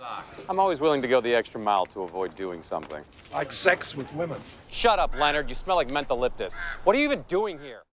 I'm always willing to go the extra mile to avoid doing something. Like sex with women. Shut up, Leonard. You smell like mentholyptus. What are you even doing here?